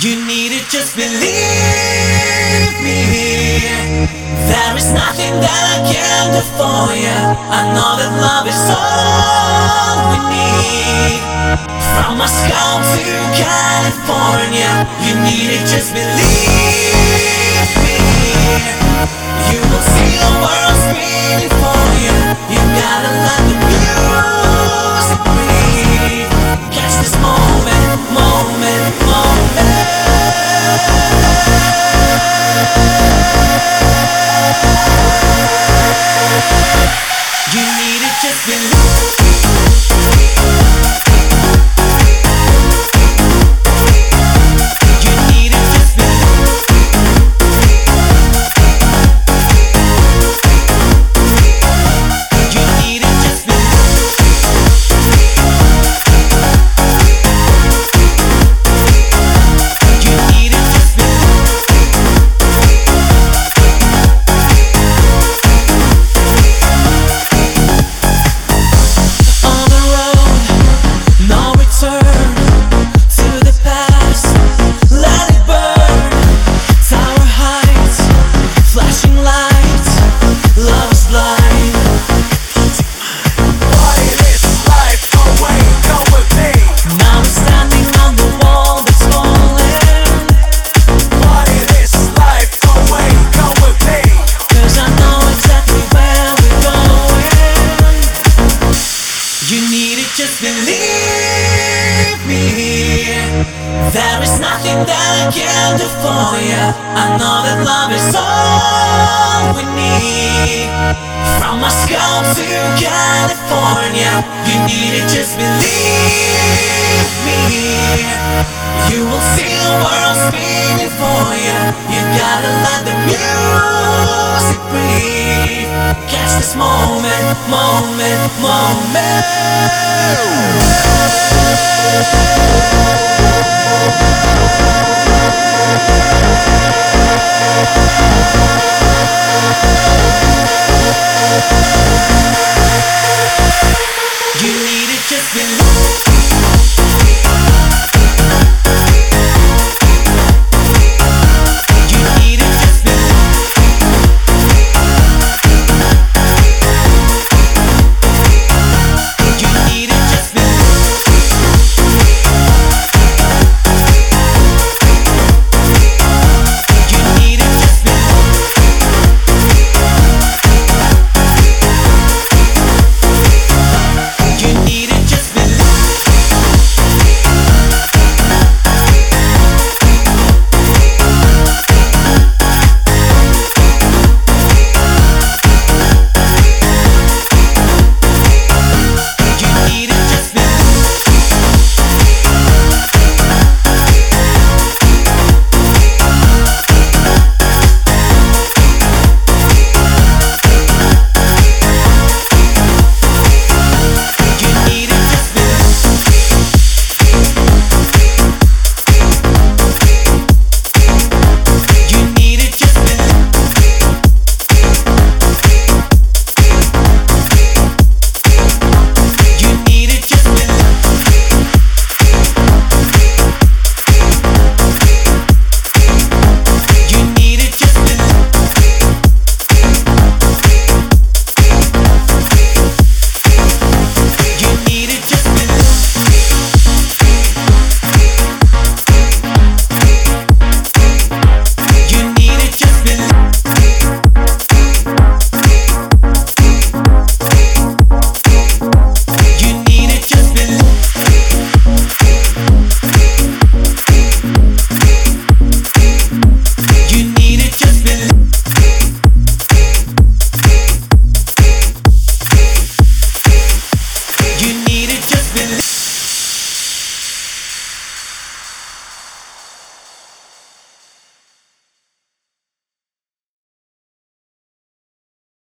You need to just believe me. There is nothing that I can do for you. I know that love is all we need. From Moscow to California, you need to just believe me. You will see the world spinning for you. You gotta let the music breathe. Catch this moment, moment, moment. You need to just believe. Just believe me. There is nothing that I can do for you. I know that love is all we need. From Moscow to California, you need to just believe me. You will see the world spinning for you. You gotta let the music breathe. Catch this moment, moment, moment.